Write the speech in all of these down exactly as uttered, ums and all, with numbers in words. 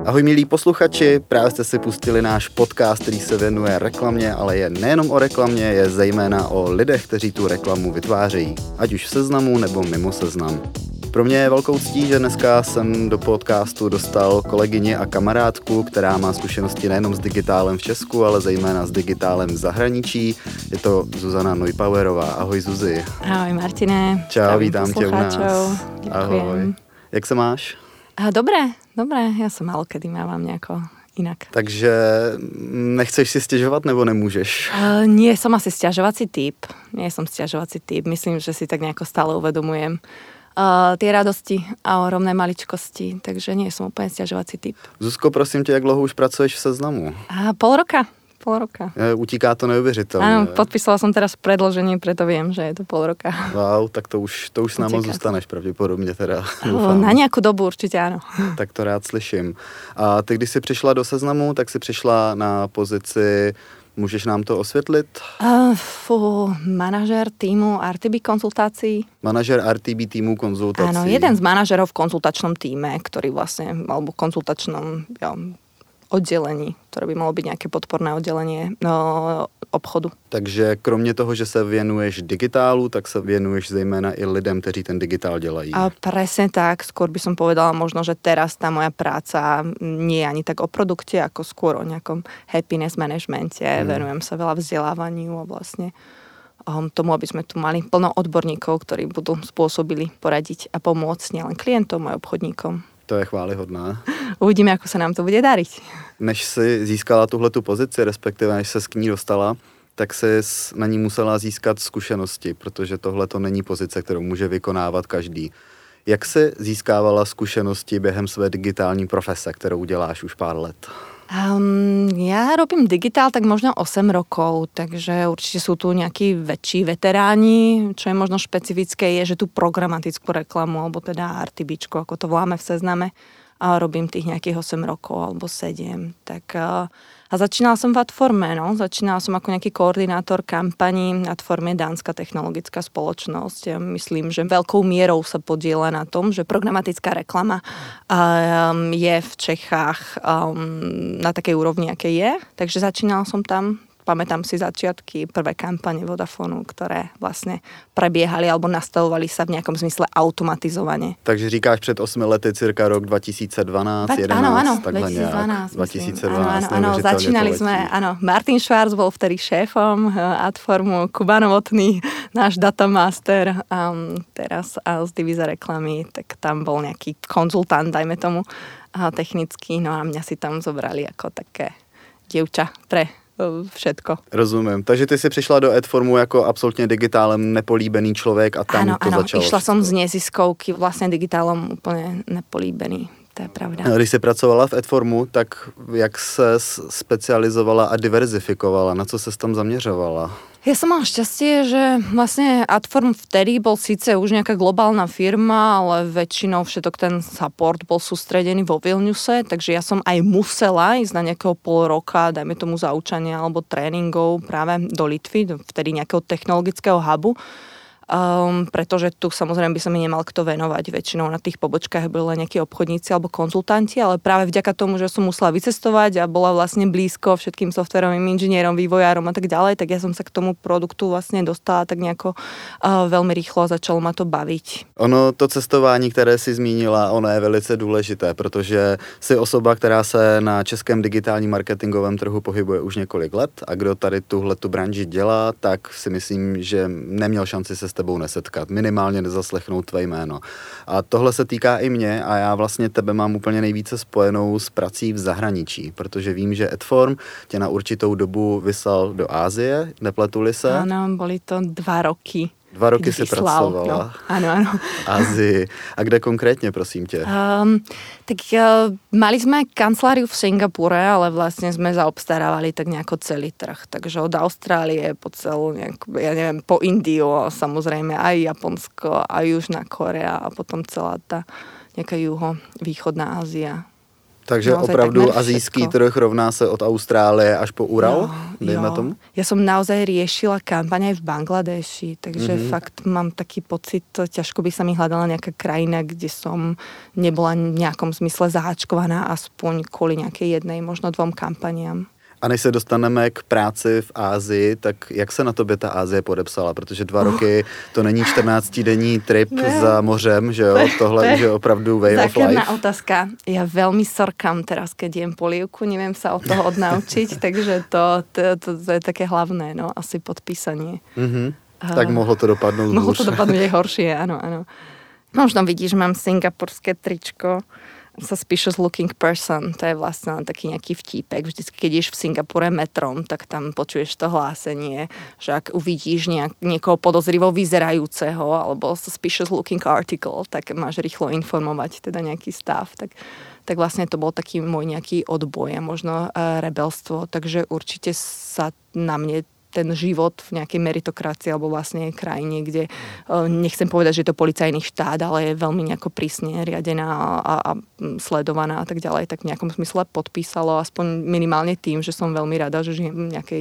Ahoj milí posluchači, právě jste si pustili náš podcast, který se věnuje reklamě, ale je nejenom o reklamě, je zejména o lidech, kteří tu reklamu vytvářejí, ať už v Seznamu nebo mimo Seznam. Pro mě je velkou ctí, že dneska jsem do podcastu dostal kolegyni a kamarádku, která má zkušenosti nejenom s digitálem v Česku, ale zejména s digitálem v zahraničí. Je to Zuzana Neubauerová. Ahoj Zuzi. Ahoj Martine. Čau, vítám tě u nás. Ďakujem. Ahoj. Jak se máš? Dobre, dobre. Ja sa málo kedy mávam nejako inak. Takže nechceš si stěžovat nebo nemůžeš? Uh, nie som asi sťažovací typ. Nie som sťažovací typ. Myslím, že si tak nejako stále uvedomujem uh, tie radosti a ohromné maličkosti, takže nie som úplne sťažovací typ. Zuzko, prosím tě, jak dlouho už pracuješ v Seznamu? Uh, pol roka. Pol roka. Utíká to neuvěřitelně. Áno, podpísala som teraz predĺženie, preto viem, že je to pol roka. Wow, tak to už, to už s námi zůstaneš pravděpodobně teda. O, na nějakou dobu určitě ano. Tak to rád slyším. A ty, když jsi přišla do Seznamu, tak jsi přišla na pozici, můžeš nám to osvětlit? Uh, fú, manažer týmu er té bé konzultácií. Manažer er té bé týmu konzultácií. Áno, jeden z manažerov v konzultačnom týme, ktorý vlastne, alebo konzultačnom, ja, oddelení, ktoré by malo byť nejaké podporné oddelenie no, obchodu. Takže kromě toho, že se věnuješ digitálu, tak se věnuješ zejména i lidem, kteří ten digitál dělají. A presne tak, skôr by som povedala možno, že teraz tá moja práca nie je ani tak o produkte, ako skôr o nejakom happiness managemente. Hmm. Venujem sa veľa vzdelávaniu a vlastne um, tomu, aby sme tu mali plno odborníkov, ktorí budú spôsobili poradiť a pomôcť nielen klientom, aj obchodníkom. To je chválihodné. Uvidíme, ako sa nám to bude dariť. Než si získala tuhletu pozici, respektive než se k ní dostala, tak si na ní musela získat zkušenosti, protože tohle to není pozice, kterou může vykonávat každý. Jak jsi získávala zkušenosti během své digitální profese, kterou děláš už pár let? Um, ja robím digitál tak možno osem rokov, takže určite sú tu nejakí väčší veteráni. Čo je možno špecifické je, že tu programatickú reklamu, alebo teda RTBčku, ako to voláme v Sezname, a robím tých nejakých osem rokov alebo sedem. Tak, a začínala som v Adforme, no. Začínala som ako nejaký koordinátor kampaní. Adform je dánska technologická spoločnosť. Ja myslím, že veľkou mierou sa podieľa na tom, že programatická reklama um, je v Čechách um, na takej úrovni, aké je. Takže začínala som tam. Pamätám si začiatky, prvé kampane Vodafonu, ktoré vlastne prebiehali alebo nastavovali sa v nejakom zmysle automatizovane. Takže říkáš před osmi lety, cirka rok dva tisíce dvanásť, jedenásť, áno, áno, takhle dvetisícdvanásť, dva tisíce dvanásť, áno, áno, začínali sme, áno, Martin Schwarz bol vtedy šéfom Adformu, Kuba Novotný, náš datamaster, um, teraz a z divíze reklamy, tak tam bol nejaký konzultant, dajme tomu, technický, no a mňa si tam zobrali ako také dievča pre všetko. Rozumím. Takže ty si přišla do Adformu jako absolutně digitálem nepolíbený člověk a tam áno, to áno, začalo. Išla som z neziskovky vlastne digitálom úplne nepolíbený. To je pravda. Když jsi pracovala v Adformu, tak jak se specializovala a diverzifikovala? Na co se tam zaměřovala? Ja som mal šťastie, že vlastne Adform vtedy bol síce už nejaká globálna firma, ale väčšinou všetok ten support bol sústredený vo Vilniuse, takže ja som aj musela ísť na nejakého pol roka, dajme tomu zaučania alebo tréningov práve do Litvy, vtedy nejakého technologického hubu. Um, pretože tu samozrejme by sa mi nemal kto venovať. Väčšinou na tých pobočkách boli len nejakí obchodníci alebo konzultanti, ale práve vďaka tomu, že som musela vycestovať a bola vlastne blízko všetkým softverovým inžinierom, vývojárom a tak ďalej, tak ja som sa k tomu produktu vlastne dostala tak nejako uh, veľmi rýchlo a začalo ma to baviť. Ono, to cestování, které si zmínila, ono je velice důležité, protože jsi osoba, která se na českém digitálním marketingovém trhu pohybuje už několik let a kdo tady tuhletu branži dělá, tak si myslím, že neměl šanci se tebou nesetkat, minimálně nezaslechnout tvé jméno. A tohle se týká i mě a já vlastně tebe mám úplně nejvíce spojenou s prací v zahraničí, protože vím, že Adform tě na určitou dobu vyslal do Ázie, nepletuli se? Áno, boli to dva roky. Dva roky si pracovala. No, áno, áno. Ázii. A kde konkrétne, prosím ťa? Um, tak uh, mali sme kanceláriu v Singapúre, ale vlastne sme zaobstarávali tak nejako celý trh. Takže od Austrálie po celú, nejak, ja neviem, po Indiu, samozrejme aj Japonsko, aj Južná Korea a potom celá tá nejaká juho-východná Ázia. Takže opravdu azijský trh rovná se od Austrálie až po Ural, jo, dejme jo. tomu? Ja som naozaj riešila kampaň aj v Bangladeši, takže mm-hmm. fakt mám taký pocit, ťažko by sa mi hľadala nejaká krajina, kde som nebola v nejakom zmysle zaháčkovaná aspoň kvôli nejakej jednej, možno dvom kampaniám. A než se dostaneme k práci v Ázii, tak jak se na tobě ta Ázie podepsala? Protože dva uh. roky to není čtrnáctidenní trip ne. za mořem, že jo? Tohle už je opravdu way of life. Zákerná otázka. Ja veľmi sorkám teraz, keď jem polievku, neviem sa od toho odnaučiť, takže to, to, to, to je také hlavné, no, asi podpísanie. Uh-huh. Uh, tak mohlo to dopadnúť Mohlo to dopadnúť aj horšie, áno, áno. Možno vidíš, mám singapurské tričko. Suspicious looking person, to je vlastne taký nejaký vtípek. Vždycky, keď ideš v Singapure metrom, tak tam počuješ to hlásenie, že ak uvidíš nejak, niekoho podozrivo vyzerajúceho alebo suspicious looking article, tak máš rýchlo informovať teda nejaký stav. Tak, tak vlastne to bol taký môj nejaký odboj a možno uh, rebelstvo. Takže určite sa na mne ten život v nejakej meritokracii alebo vlastne krajine, kde nechcem povedať, že je to policajný štát, ale je veľmi nejako prísne riadená a, a sledovaná a tak ďalej, tak v nejakom smysle podpísalo, aspoň minimálne tým, že som veľmi rada, že žijem v nejakej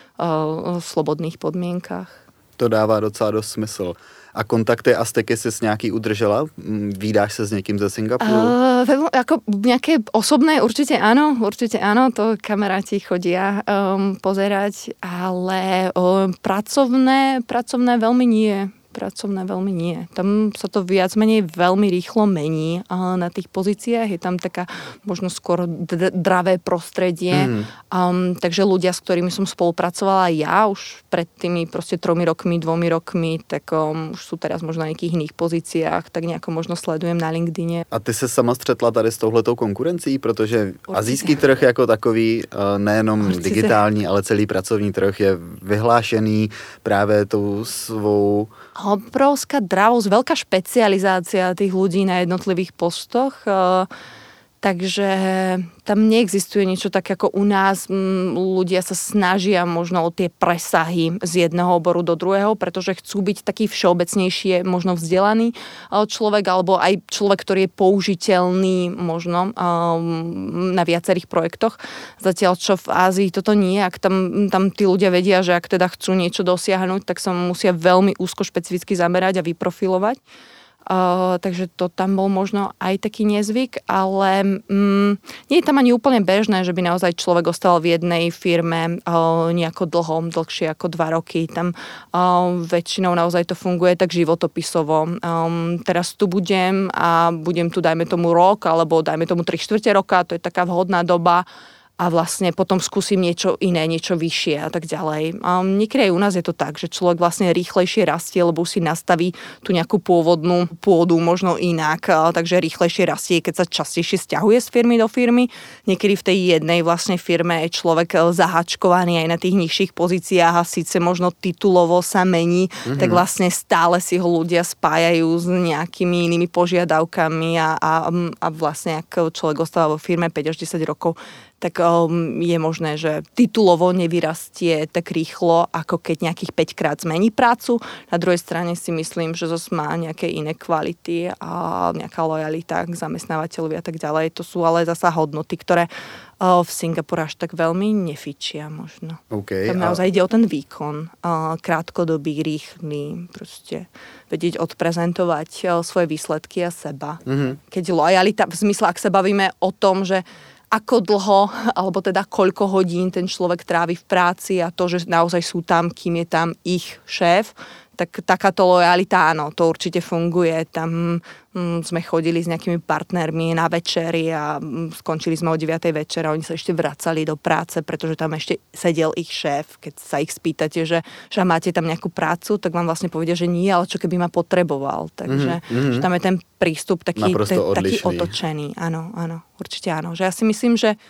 uh, slobodných podmienkách. To dává docela dost smysl. A kontakty a styky si s nějaký udržela? Vídáš se s někým ze Singapuru? Uh, ako nejaké osobné, určite áno, určite áno, to kamaráti chodia um, pozerať, ale um, pracovné, pracovné veľmi nie. Pracovné veľmi nie. Tam sa to viac menej veľmi rýchlo mení na tých pozíciách. Je tam taká možno skôr d- dravé prostredie. Mm. Um, takže ľudia, s ktorými som spolupracovala ja už pred tými proste tromi rokmi, dvomi rokmi, tak um, už sú teraz možno na nejakých iných pozíciách, tak nejako možno sledujem na LinkedIne. A ty se sama střetla tady s touhletou konkurencí, protože asijský trh jako takový, nejenom Určite. digitální, ale celý pracovní trh je vyhlášený právě tou svou obrovská dravosť, veľká špecializácia tých ľudí na jednotlivých postoch. Takže tam neexistuje niečo tak ako u nás. Ľudia sa snažia možno o tie presahy z jedného oboru do druhého, pretože chcú byť taký všeobecnejšie, možno vzdelaný človek, alebo aj človek, ktorý je použiteľný možno na viacerých projektoch. Zatiaľ, čo v Ázii toto nie. Ak tam, tam tí ľudia vedia, že ak teda chcú niečo dosiahnuť, tak sa musia veľmi úzko špecificky zamerať a vyprofilovať. Uh, takže to tam bol možno aj taký nezvyk, ale um, nie je tam ani úplne bežné, že by naozaj človek ostal v jednej firme uh, nejako dlho, dlhšie ako dva roky. Tam uh, väčšinou naozaj to funguje tak životopisovo. Um, teraz tu budem a budem tu dajme tomu rok, alebo dajme tomu tri štvrte roka, to je taká vhodná doba. A vlastne potom skúsim niečo iné, niečo vyššie a tak ďalej. A niekedy aj u nás je to tak, že človek vlastne rýchlejšie rastie, lebo si nastaví tú nejakú pôvodnú pôdu možno inak, takže rýchlejšie rastie, keď sa častejšie sťahuje z firmy do firmy. Niekedy v tej jednej vlastne firme je človek zahačkovaný aj na tých nižších pozíciách a síce možno titulovo sa mení, mm-hmm. tak vlastne stále si ho ľudia spájajú s nejakými inými požiadavkami a, a, a vlastne ak človek ostáva vo firme päť až desať rokov, tak um, je možné, že titulovo nevyrastie tak rýchlo, ako keď nejakých päť krát zmení prácu. Na druhej strane si myslím, že zase má nejaké iné kvality a nejaká lojalita k zamestnávateľovi a tak ďalej. To sú ale zasa hodnoty, ktoré uh, v Singapure až tak veľmi nefičia možno. Okay, tam naozaj a... ide o ten výkon. Uh, krátkodobý, rýchly, proste vedieť odprezentovať uh, svoje výsledky a seba. Mm-hmm. Keď lojalita, v zmysle, ak sa bavíme o tom, že ako dlho, alebo teda koľko hodín ten človek trávi v práci a to, že naozaj sú tam, kým je tam ich šéf, tak takáto lojalita, áno, to určite funguje. Tam mm, sme chodili s nejakými partnermi na večery a mm, skončili sme o deviatej večer a oni sa ešte vracali do práce, pretože tam ešte sedel ich šéf. Keď sa ich spýtate, že, že máte tam nejakú prácu, tak vám vlastne povedia, že nie, ale čo keby ma potreboval. Takže mm-hmm. že tam je ten prístup taký, te, taký otočený. Áno, áno, určite áno. Že ja si myslím, že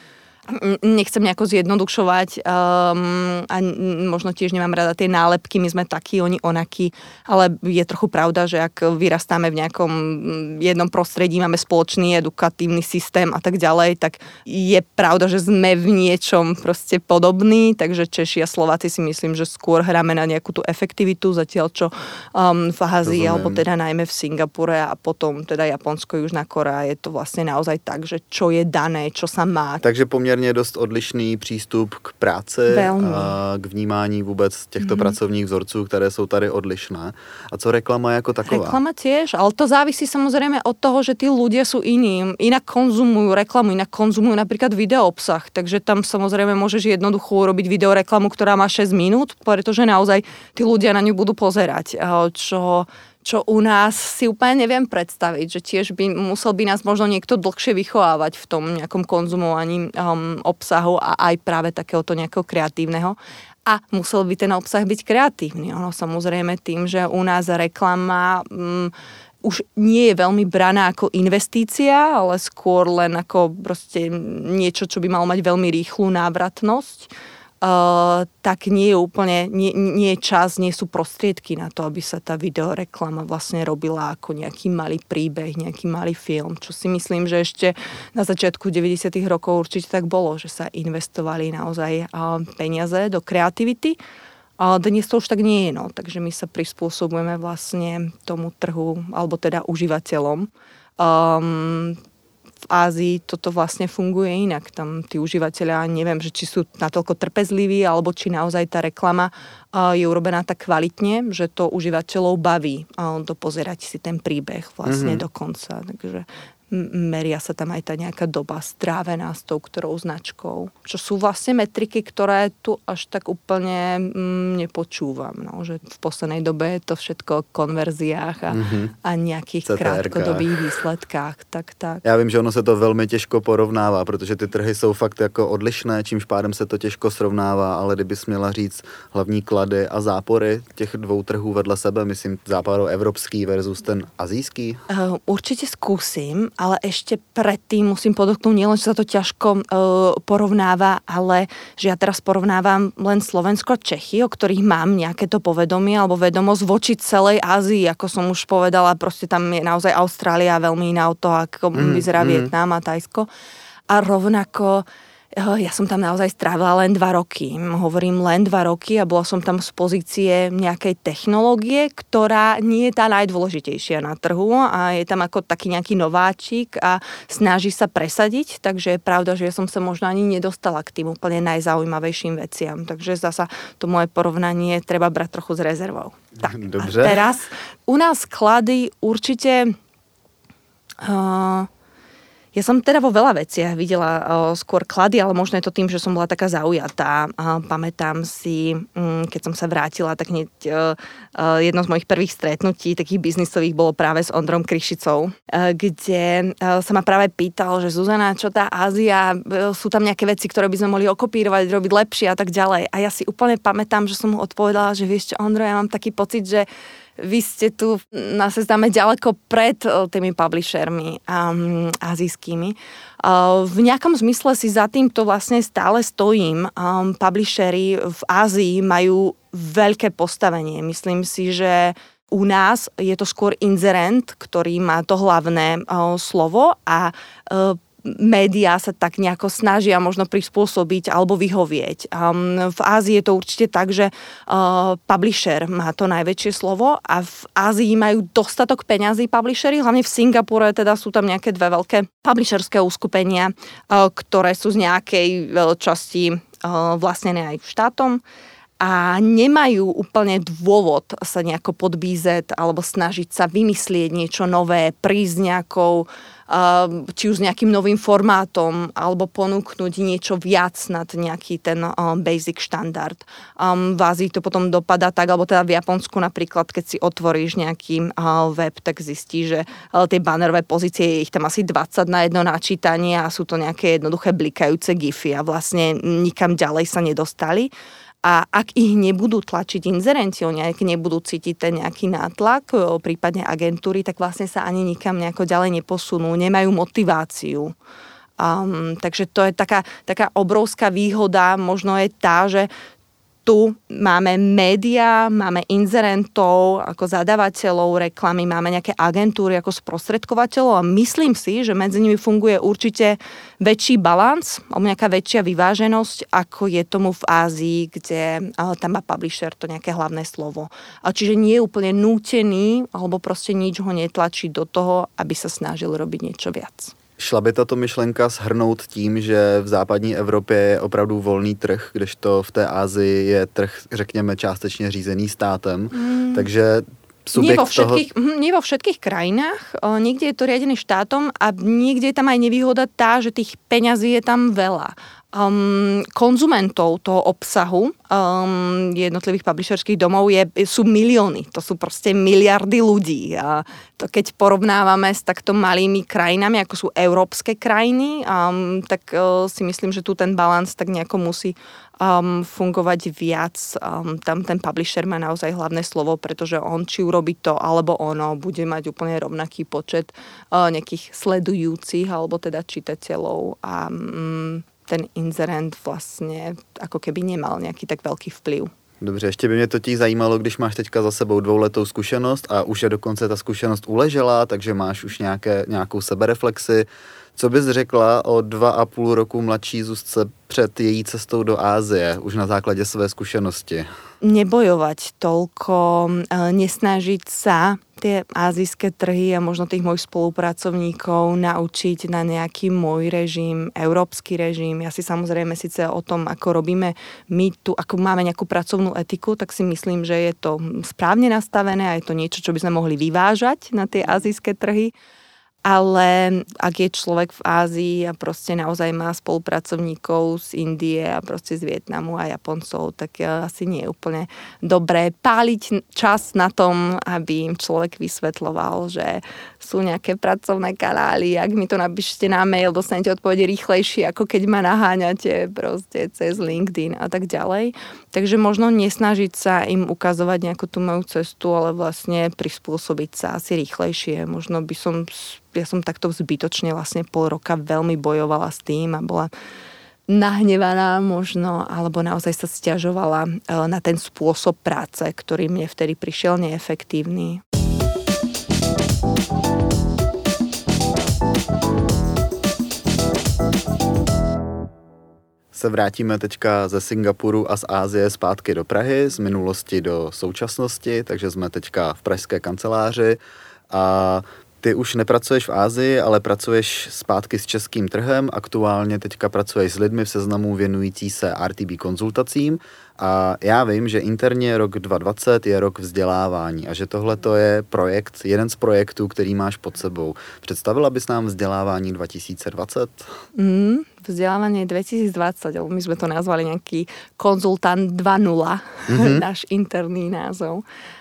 nechcem nejako zjednodušovať um, a možno tiež nemám rada tie nálepky, my sme takí, oni onakí, ale je trochu pravda, že ak vyrastáme v nejakom jednom prostredí, máme spoločný edukatívny systém a tak ďalej, tak je pravda, že sme v niečom proste podobní, takže Češi a Slováci si myslím, že skôr hráme na nejakú tú efektivitu, zatiaľ čo um, v Ázii, alebo teda najmä v Singapure a potom teda Japonsko, Južná Korea, je to vlastne naozaj tak, že čo je dané, čo sa má. Takže poměrně dost odlišný přístup k práci Velmi. a k vnímání vůbec těchto mm-hmm. pracovních vzorců, které jsou tady odlišné. A co reklama jako taková? Reklama tiež, ale to závisí samozrejme od toho, že tí ľudia sú iní. Inak konzumujú reklamu, inak konzumujú napríklad video obsah, takže tam samozrejme môžeš jednoducho urobiť videoreklamu, ktorá má šesť minút, pretože naozaj tí ľudia na ňu budú pozerať. Čo čo u nás si úplne neviem predstaviť, že tiež by musel by nás možno niekto dlhšie vychovávať v tom nejakom konzumovaní um, obsahu a aj práve takéhoto nejakého kreatívneho. A musel by ten obsah byť kreatívny. Ono samozrejme tým, že u nás reklama um, už nie je veľmi braná ako investícia, ale skôr len ako proste niečo, čo by malo mať veľmi rýchlu návratnosť. Uh, tak nie je úplne, nie, nie je čas, nie sú prostriedky na to, aby sa tá videoreklama vlastne robila ako nejaký malý príbeh, nejaký malý film, čo si myslím, že ešte na začiatku deväťdesiatych rokov určite tak bolo, že sa investovali naozaj uh, peniaze do kreativity. A dnes to už tak nie je, no, takže my sa prispôsobujeme vlastne tomu trhu, alebo teda užívateľom. Um, V Ázii toto vlastne funguje inak. Tam tí užívateľia, neviem, že či sú natoľko trpezliví, alebo či naozaj tá reklama je urobená tak kvalitne, že to užívateľov baví dopozerať si ten príbeh vlastne mm-hmm. do konca. Takže meria sa tam aj tá nejaká doba strávená s tou ktorou značkou. Čo sú vlastne metriky, ktoré tu až tak úplne mm, nepočúvam. No, že v poslednej dobe je to všetko o konverziách a, mm-hmm. a nejakých C T R kách. Krátkodobých výsledkách. Tak, tak. Já vím, že ono se to velmi těžko porovnává, protože ty trhy jsou fakt jako odlišné, čímž pádem se to těžko srovnává, ale kdybys měla říct hlavní klady a zápory těch dvou trhů vedle sebe, myslím západoevropský versus ten azijský? Uh, určite skúsim, ale ešte predtým musím podotknúť, nielen, že sa to ťažko uh, porovnáva, ale že ja teraz porovnávam len Slovensko a Čechy, o ktorých mám nejaké to povedomie alebo vedomosť voči celej Ázii, ako som už povedala, proste tam je naozaj Austrália veľmi iná od toho, ako mm, vyzerá mm. Vietnam a Thajsko. A rovnako ja som tam naozaj strávila len dva roky. Hovorím len dva roky a bola som tam z pozície nejakej technológie, ktorá nie je tá najdôležitejšia na trhu a je tam ako taký nejaký nováčik a snaží sa presadiť, takže je pravda, že ja som sa možno ani nedostala k tým úplne najzaujímavejším veciam. Takže zasa to moje porovnanie treba brať trochu s rezervou. Tak, Dobře. A teraz u nás klady určite... Uh, Ja som teda vo veľa veciach videla uh, skôr klady, ale možno je to tým, že som bola taká zaujatá. Uh, pamätám si, um, keď som sa vrátila, tak hneď uh, uh, jedno z mojich prvých stretnutí, takých biznisových, bolo práve s Ondrom Kryšicou, uh, kde uh, sa ma práve pýtal, že Zuzana, čo tá Ázia, uh, sú tam nejaké veci, ktoré by sme mohli okopírovať, robiť lepšie a tak ďalej. A ja si úplne pamätám, že som mu odpovedala, že vieš čo, Ondro, ja mám taký pocit, že vy ste tu na sezname ďaleko pred tými publishermi um, azijskými. Uh, v nejakom zmysle si za týmto vlastne stále stojím. Um, publishery v Ázii majú veľké postavenie. Myslím si, že u nás je to skôr inzerent, ktorý má to hlavné uh, slovo a uh, médiá sa tak nejako snažia možno prispôsobiť alebo vyhovieť. Um, v Ázii je to určite tak, že uh, publisher má to najväčšie slovo a v Ázii majú dostatok peňazí publishery, hlavne v Singapure teda sú tam nejaké dve veľké publisherské uskupenia, uh, ktoré sú z nejakej časti uh, vlastnené aj štátom a nemajú úplne dôvod sa nejako podbízať alebo snažiť sa vymyslieť niečo nové, prísť nejakou či už s nejakým novým formátom alebo ponúknuť niečo viac nad nejaký ten um, basic štandard. Um, v Ázii to potom dopadá tak, alebo teda v Japonsku napríklad, keď si otvoríš nejaký uh, web, tak zistíš, že uh, tie bannerové pozície, je ich tam asi dvadsať na jedno načítanie a sú to nejaké jednoduché blikajúce gify a vlastne nikam ďalej sa nedostali. A ak ich nebudú tlačiť inzerenti, oni ak nebudú cítiť ten nejaký nátlak, prípadne agentúry, tak vlastne sa ani nikam nejako ďalej neposunú, nemajú motiváciu Um, takže to je taká, taká obrovská výhoda, možno je tá, že tu máme médiá, máme inzerentov ako zadávateľov reklamy, máme nejaké agentúry ako sprostredkovateľov a myslím si, že medzi nimi funguje určite väčší balans, alebo nejaká väčšia vyváženosť, ako je tomu v Ázii, kde tam má publisher to nejaké hlavné slovo. A čiže nie je úplne nútený, alebo proste nič ho netlačí do toho, aby sa snažil robiť niečo viac. Šla by tato myšlenka shrnout tím, že v západní Evropě je opravdu volný trh, kdežto v té Asii je trh, řekněme, částečně řízený státem, mm. takže subjekt nie vo všetkých, toho... Nie vo všetkých krajinách, o, niekde je to riadený štátom a niekde je tam aj nevýhoda tá, že tých peňazí je tam veľa. Um, konzumentov toho obsahu um, jednotlivých publisherských domov je, sú milióny. To sú proste miliardy ľudí. A to keď porovnávame s takto malými krajinami, ako sú európske krajiny, um, tak uh, si myslím, že tu ten balans tak nejako musí um, fungovať viac. Um, tam ten publisher má naozaj hlavné slovo, pretože on či urobí to, alebo ono bude mať úplne rovnaký počet uh, nejakých sledujúcich, alebo teda čitateľov a um, ten inzerent vlastně ako keby nemal nějaký tak velký vplyv. Dobře, ještě by mě totiž zajímalo, když máš teďka za sebou dvouletou zkušenost a už je dokonce ta zkušenost uležela, takže máš už nějaké, nějakou sebereflexi. Co bys řekla o dva a půl roku mladší Zuzce před její cestou do Ázie, už na základě své zkušenosti? Nebojovať toľko, nesnažiť sa tie ázijské trhy a možno tých mojich spolupracovníkov naučiť na nejaký môj režim, európsky režim. Ja si samozrejme síce o tom, ako robíme my tu, ako máme nejakú pracovnú etiku, tak si myslím, že je to správne nastavené a je to niečo, čo by sme mohli vyvážať na tie ázijské trhy. Ale ak je človek v Ázii a proste naozaj má spolupracovníkov z Indie a proste z Vietnamu a Japoncov, tak asi nie je úplne dobré páliť čas na tom, aby im človek vysvetľoval, že sú nejaké pracovné kanály, ak mi to napíšete na mail, dostanete odpovede rýchlejšie, ako keď ma naháňate proste cez LinkedIn a tak ďalej. Takže možno nesnažiť sa im ukazovať nejakú tú moju cestu, ale vlastne prispôsobiť sa asi rýchlejšie. Možno by som ja som takto zbytočne vlastne pol roka veľmi bojovala s tým a bola nahnevaná možno, alebo naozaj sa sťažovala na ten spôsob práce, ktorý mne vtedy prišiel neefektívny. Se vrátíme teďka ze Singapuru a z Ázie zpátky do Prahy, z minulosti do současnosti, takže jsme teďka v pražské kanceláři a ty už nepracuješ v Ázii, ale pracuješ zpátky s českým trhem. Aktuálně teďka pracuješ s lidmi v seznamu věnující se R T B konzultacím a já vím, že interně rok dva tisíce dvacet je rok vzdělávání a že tohle to je projekt, jeden z projektů, který máš pod sebou. Představila bys nám vzdělávání dva tisíce dvacet? Mm, vzdělávání dva tisíce dvacet, alebo my jsme to nazvali nějaký konzultant dva nula, mm-hmm. náš interný názov.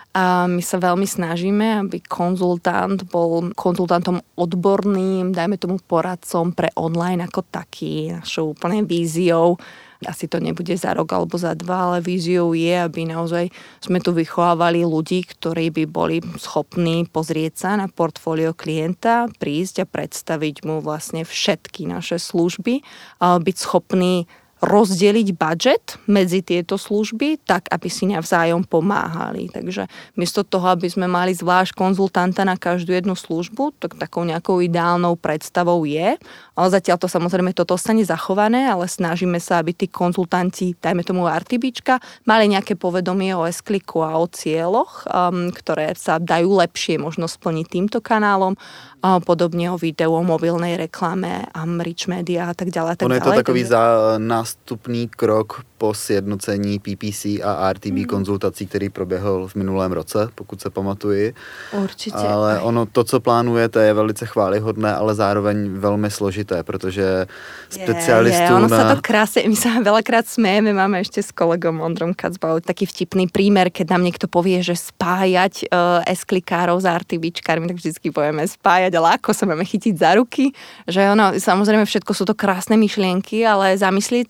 A my sa veľmi snažíme, aby konzultant bol konzultantom odborným, dajme tomu poradcom pre online ako taký. Našou úplne víziou, asi to nebude za rok alebo za dva, ale víziou je, aby naozaj sme tu vychovávali ľudí, ktorí by boli schopní pozrieť sa na portfólio klienta, prísť a predstaviť mu vlastne všetky naše služby, a byť schopní rozdeliť budget medzi tieto služby tak, aby si navzájom pomáhali. Takže miesto toho, aby sme mali zvlášť konzultanta na každú jednu službu, tak takou nejakou ideálnou predstavou je. Ale zatiaľ to samozrejme toto ostane zachované, ale snažíme sa, aby tí konzultanti, dajme tomu RTBčka, mali nejaké povedomie o S-kliku a o cieľoch, um, ktoré sa dajú lepšie možno splniť týmto kanálom, a podobne o videu, o mobilnej reklame, um, rich media a tak ďalej. Tak ono je to ďalej, takový takže... za nástupný krok po sjednocení P P C a R T B mm. konzultací, který proběhl v minulém roce, pokud se pamatuji. Určitě. Ale ono, to, co plánujete, je velice chválihodné, ale zároveň velmi složité, protože specialistů je, je. Ono na... sa to krásne, my sa veľakrát smejeme, máme ešte s kolegom Ondrom Kacbau taký vtipný prímer, keď nám niekto povie, že spájať uh, S-klikárov s RTBčkármi, tak vždycky povieme spájať, ale ako sa máme chytiť za ruky, že ono, samozrejme všetko sú to krásne myšlienky, ale zamyslieť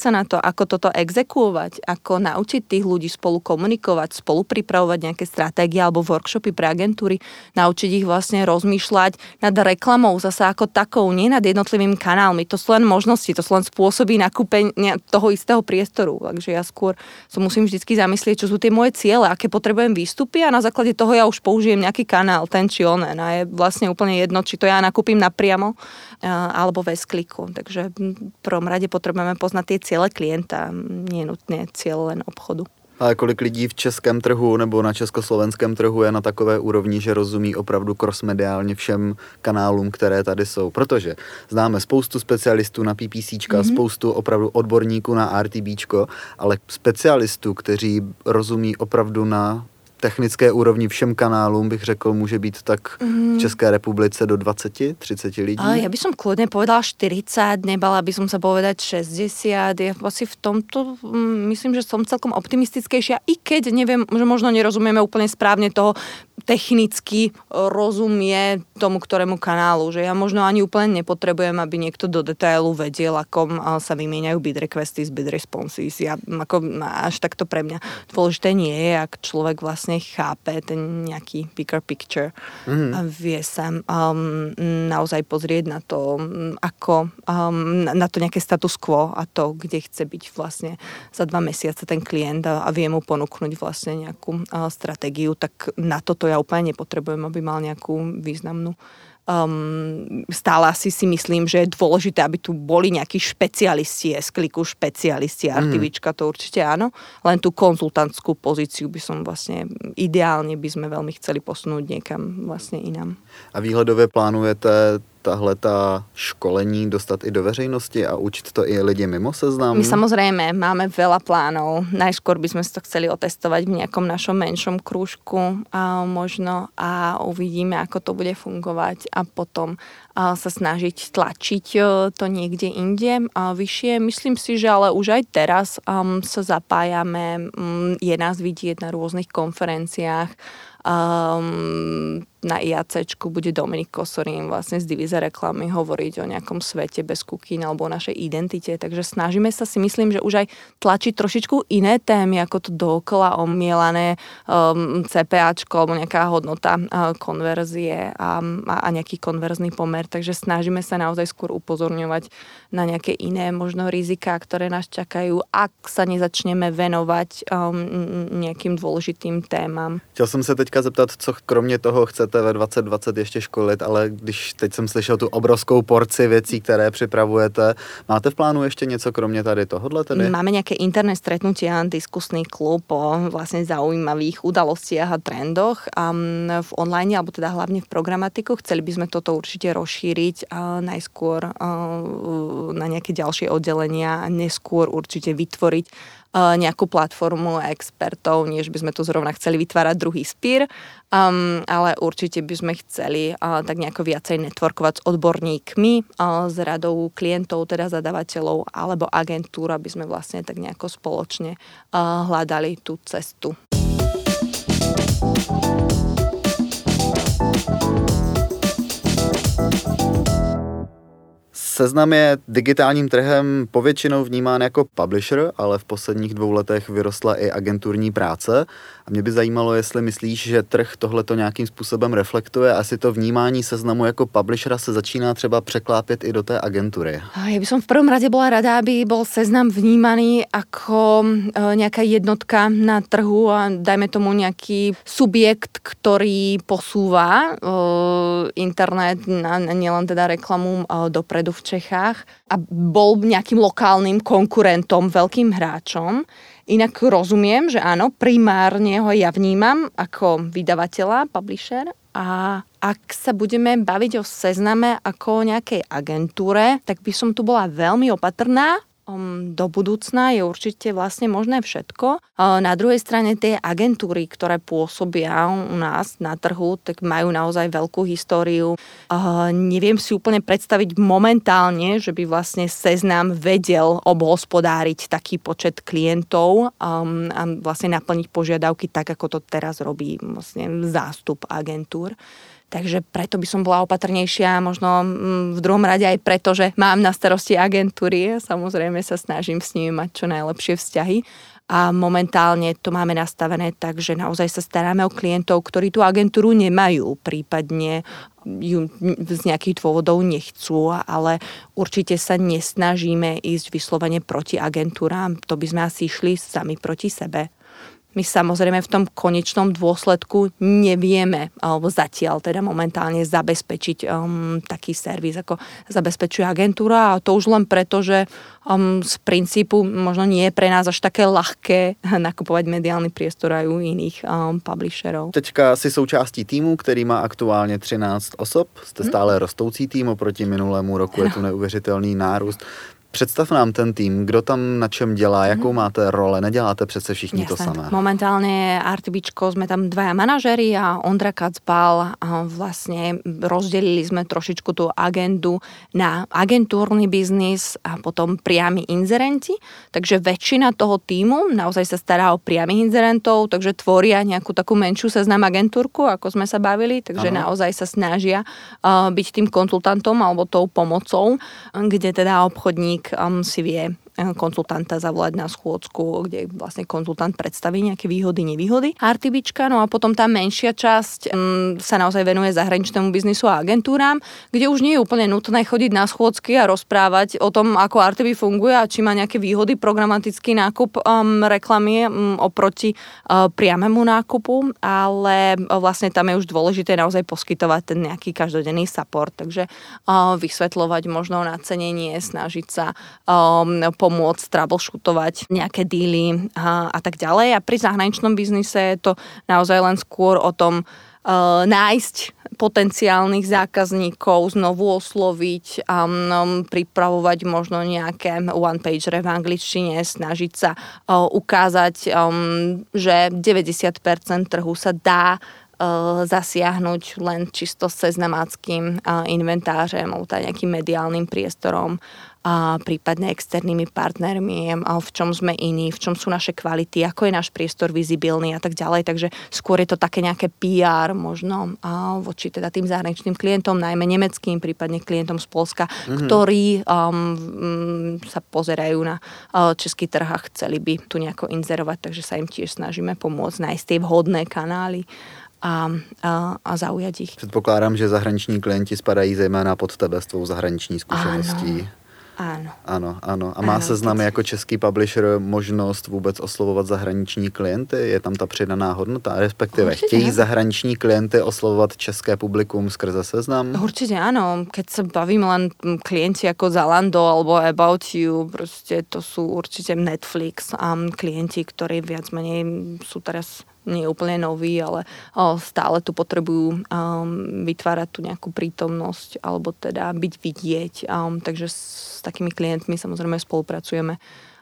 sa na to, ako toto exekuovať, ako naučiť tých ľudí spolu komunikovať, spolu pripravovať nejaké stratégie alebo workshopy pre agentúry, naučiť ich vlastne rozmýšľať nad reklamou zasa ako takou, nie nad jednotlivými kanálmi. To sú len možnosti, to sú len spôsoby nakúpenia toho istého priestoru. Takže ja skôr sa musím vždycky zamyslieť, čo sú tie moje ciele, aké potrebujem výstupy a na základe toho ja už použijem nejaký kanál, ten či onen. A je vlastne úplne jedno, či to ja nakúpim napriamo alebo bez kliku. Takže v prvom rade potrebujeme poznať tie ciele klienta, nie nutne cieľ len obchodu. A kolik lidí v českém trhu nebo na československém trhu je na takové úrovni, že rozumí opravdu crossmediálně všem kanálům, které tady jsou? Protože známe spoustu specialistů na PPCčka, mm-hmm. spoustu opravdu odborníků na RTBčko, ale specialistů, kteří rozumí opravdu na technické úrovni všem kanálům, bych řekl, může být tak v České republice do dvadsať tridsať lidí. Ale ja by som kľudne povedala štyridsať, nebala by som sa povedať šesťdesiat. Ja asi v tomto myslím, že som celkom optimistickejšia, i keď neviem, že možno nerozumieme úplne správne toho, technicky rozumie tomu, ktorému kanálu. Že ja možno ani úplne nepotrebujem, aby niekto do detailu vedel, ako sa vymieňajú bid requesty z bid responses. Ja, ako, až takto pre mňa dôležité nie je, ak človek vlastne chápe ten nejaký bigger picture mm. a vie sa um, naozaj pozrieť na to, ako um, na to nejaké status quo a to, kde chce byť vlastne za dva mesiace ten klient a, a vie mu ponúknuť vlastne nejakú uh, stratégiu, tak na toto ja úplne nepotrebujem, aby mal nejakú významnú. Um, stále asi si myslím, že je dôležité, aby tu boli nejakí špecialisti, S-kliku špecialisti, RTBčka, to určite áno, len tú konzultantskú pozíciu by som vlastne, ideálne by sme veľmi chceli posunúť niekam vlastne inám. A výhledově plánujete tahle tá školení dostat i do veřejnosti a učit to i lidi mimo Seznam? My samozrejme máme veľa plánov. Najskôr by sme si to chceli otestovať v nejakom našom menšom krúžku a možno a uvidíme, ako to bude fungovať a potom a sa snažiť tlačiť to niekde inde a vyššie. Myslím si, že ale už aj teraz um, sa zapájame, um, je nás vidieť na rôznych konferenciách. Um, na IACčku bude Dominik Kosorín vlastne z divíze reklamy hovoriť o nejakom svete bez kukín alebo o našej identite, takže snažíme sa, si myslím, že už aj tlačiť trošičku iné témy, ako to dookola omielané um, CPAčko alebo nejaká hodnota uh, konverzie a, a nejaký konverzný pomer, takže snažíme sa naozaj skôr upozorňovať na nejaké iné možno riziká, ktoré nás čakajú, ak sa nezačneme venovať um, nejakým dôležitým témam. Chtěl jsem se teďka zeptat, co kromě toho chcete ve dvacet dvacet ještě školit, ale když teď jsem slyšel tu obrovskou porci věcí, které připravujete, máte v plánu ještě něco kromě tady tohodle tedy? Máme nejaké interné stretnutia, diskusný klub o vlastne zaujímavých udalostiach a trendoch um, v online, alebo teda hlavne v programatiku. Chceli by sme toto určite rozšíriť uh, najskôr uh, na nejaké ďalšie oddelenia a neskôr určite vytvoriť nejakú platformu expertov, než by sme tu zrovna chceli vytvárať druhý Spír, um, ale určite by sme chceli uh, tak nejako viacej networkovať s odborníkmi, uh, s radou klientov, teda zadavateľov alebo agentúr, aby sme vlastne tak nejako spoločne uh, hľadali tú cestu. Seznam je digitálním trhem povětšinou vnímán jako publisher, ale v posledních dvou letech vyrostla i agenturní práce. A mě by zajímalo, jestli myslíš, že trh tohleto nějakým způsobem reflektuje, asi to vnímání Seznamu jako publishera se začíná třeba překlápět i do té agentury. Ja by som v prvom rade bola rada, aby bol Seznam vnímaný ako nejaká jednotka na trhu a dajme tomu nejaký subjekt, ktorý posúva internet, nielen teda reklamu dopredu v Čechách a bol nejakým lokálnym konkurentom, veľkým hráčom. Inak rozumiem, že áno, primárne ho ja vnímam ako vydavateľa, publisher a ak sa budeme baviť o Sezname ako o nejakej agentúre, tak by som tu bola veľmi opatrná. Do budúcna je určite vlastne možné všetko. Na druhej strane tie agentúry, ktoré pôsobia u nás na trhu, tak majú naozaj veľkú históriu. Neviem si úplne predstaviť momentálne, že by vlastne Seznam vedel obhospodáriť taký počet klientov a vlastne naplniť požiadavky tak, ako to teraz robí vlastne zástup agentúr. Takže preto by som bola opatrnejšia, možno v druhom rade aj preto, že mám na starosti agentúry. Samozrejme sa snažím s nimi mať čo najlepšie vzťahy. A momentálne to máme nastavené tak, že naozaj sa staráme o klientov, ktorí tú agentúru nemajú, prípadne ju z nejakých dôvodov nechcú, ale určite sa nesnažíme ísť vyslovene proti agentúram. To by sme asi išli sami proti sebe. My samozrejme v tom konečnom dôsledku nevieme alebo zatiaľ teda momentálne zabezpečiť um, taký servis, ako zabezpečuje agentúra, a to už len preto, že um, z princípu možno nie je pre nás až také ľahké nakupovať mediálny priestor aj u iných um, publisherov. Teďka si součástí týmu, který má aktuálně třináct osob. Jste stále hmm. rostoucí tým oproti minulému roku, je tu neuvěřitelný nárůst. Představ nám ten tým, kdo tam na čem dělá, jakou máte role, neděláte přece všichni Jasne. To samé. Momentálne RTBčko sme tam dvaja manažéri a Ondra Kacbal, a vlastne rozdelili sme trošičku tú agendu na agentúrny biznis a potom priami inzerenti, takže väčšina toho tímu naozaj sa stará o priamých inzerentov, takže tvoria nejakú takú menšiu seznam agentúrku, ako sme sa bavili, takže ano. Naozaj sa snažia uh, byť tým konzultantom alebo tou pomocou, kde teda obchodník Um, si vie konzultanta zavolať na schôdzku, kde vlastne konzultant predstaví nejaké výhody, nevýhody RTBčka. No a potom tá menšia časť um, sa naozaj venuje zahraničnému biznisu a agentúram, kde už nie je úplne nutné chodiť na schôdzky a rozprávať o tom, ako er té bé funguje a či má nejaké výhody programatický nákup um, reklamy um, oproti uh, priamému nákupu, ale uh, vlastne tam je už dôležité naozaj poskytovať ten nejaký každodenný support, takže uh, vysvetľovať možno nacenenie, snažiť sa um, pomôcť troubleshootovať nejaké díly a, a tak ďalej. A pri zahraničnom biznise je to naozaj len skôr o tom uh, nájsť potenciálnych zákazníkov, znovu osloviť, um, pripravovať možno nejaké one-pagere v angličtine, snažiť sa uh, ukázať, um, že deväťdesiat percent trhu sa dá zasiahnuť len čisto seznamáckým inventářem alebo nejakým mediálnym priestorom a prípadne externými partnermi, v čom sme iní, v čom sú naše kvality, ako je náš priestor vizibilný a tak ďalej. Takže skôr je to také nejaké pé er možno voči teda tým zahraničným klientom, najmä nemeckým, prípadne klientom z Poľska, mm-hmm. ktorí um, sa pozerajú na uh, český trh a chceli by tu nejako inzerovať, takže sa im tiež snažíme pomôcť nájsť tie vhodné kanály A, a, a zaujať ich. Předpokládám, že zahraniční klienti spadají zejména pod tebe s tvou zahraniční zkušeností. Áno. Áno, áno. A má Seznam jako český publisher možnost vůbec oslovovat zahraniční klienty? Je tam ta přidaná hodnota? Respektive Určite chtějí áno. zahraniční klienty oslovovat české publikum skrze Seznam? Určite áno. Keď sa bavím len klienti ako Zalando alebo About You, proste to sú určite Netflix a klienti, ktorí viac menej sú teraz nie úplne noví, ale o, stále tu potrebujú um, vytvárať tu nejakú prítomnosť alebo teda byť vidieť. Um, takže s takými klientmi samozrejme spolupracujeme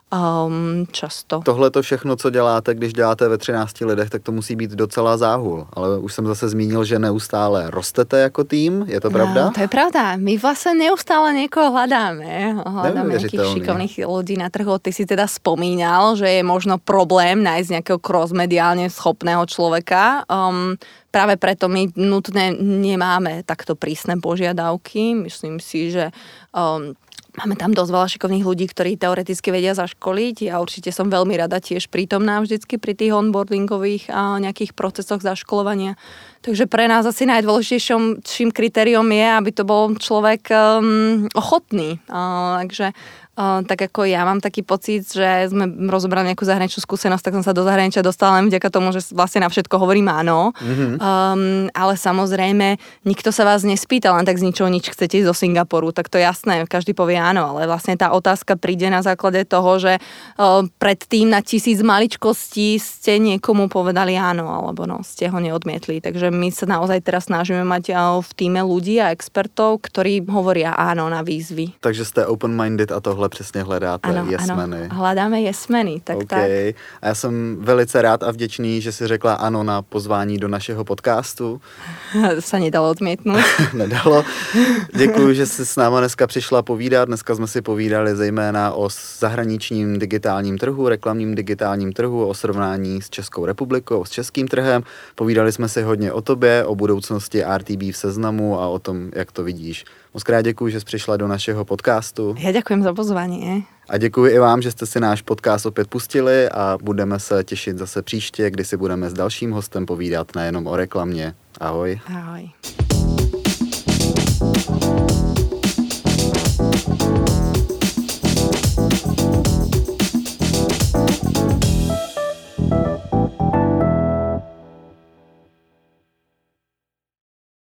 um, často. Tohle to všechno, co děláte, když děláte ve třinácti lidech, tak to musí být docela záhul. Ale už jsem zase zmínil, že neustále rostete jako tým. Je to pravda? No, to je pravda. My vlastne neustále niekoho hľadáme. Hľadáme nejakých šikovných ľudí na trhu. Ty si teda spomínal, že je možno problém nájsť nejakého cross-mediálne schopného človeka. Um, práve preto my nutne nemáme takto prísne požiadavky. Myslím si, že um, máme tam dosť veľa šikovných ľudí, ktorí teoreticky vedia zaškoliť. Ja určite som veľmi rada tiež prítomná vždycky pri tých onboardingových a nejakých procesoch zaškolovania. Takže pre nás asi najdôležitejším kritériom je, aby to bol človek um, ochotný. Uh, takže Uh, tak ako ja mám taký pocit, že sme rozobrali nejakú zahraničnú skúsenosť, tak som sa do zahraničia dostala len vďaka tomu, že vlastne na všetko hovorím áno. Mm-hmm. Um, ale samozrejme, nikto sa vás nespýta, len tak z ničoho nič chcete ísť do Singapuru, tak to jasné, každý povie áno, ale vlastne tá otázka príde na základe toho, že uh, predtým na tisíc maličkostí ste niekomu povedali áno, alebo no, ste ho neodmietli. Takže my sa naozaj teraz snažíme mať uh, v tíme ľudí a expertov, ktorí hovoria áno na výzvy. Takže ste open-minded a tohle tohle přesně hledáte, ano, jesmeny. Ano, hledáme jesmeny, tak okay. tak. A já jsem velice rád a vděčný, že jsi řekla ano na pozvání do našeho podcastu. Se nedalo odmětnout. Nedalo. Děkuji, že jsi s náma dneska přišla povídat. Dneska jsme si povídali zejména o zahraničním digitálním trhu, reklamním digitálním trhu, o srovnání s Českou republikou, s českým trhem. Povídali jsme si hodně o tobě, o budoucnosti R T B v Seznamu a o tom, jak to vidíš. Moc krát děkuji, že jsi přišla do našeho podcastu. Já děkuji za pozvání. A děkuji i vám, že jste si náš podcast opět pustili a budeme se těšit zase příště, kdy si budeme s dalším hostem povídat nejenom o reklamě. Ahoj. Ahoj.